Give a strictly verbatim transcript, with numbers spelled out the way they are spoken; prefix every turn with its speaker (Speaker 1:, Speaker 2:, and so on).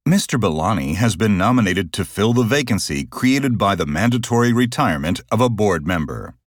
Speaker 1: Mister Bellani has been nominated to fill the vacancy created by the mandatory retirement of a board member.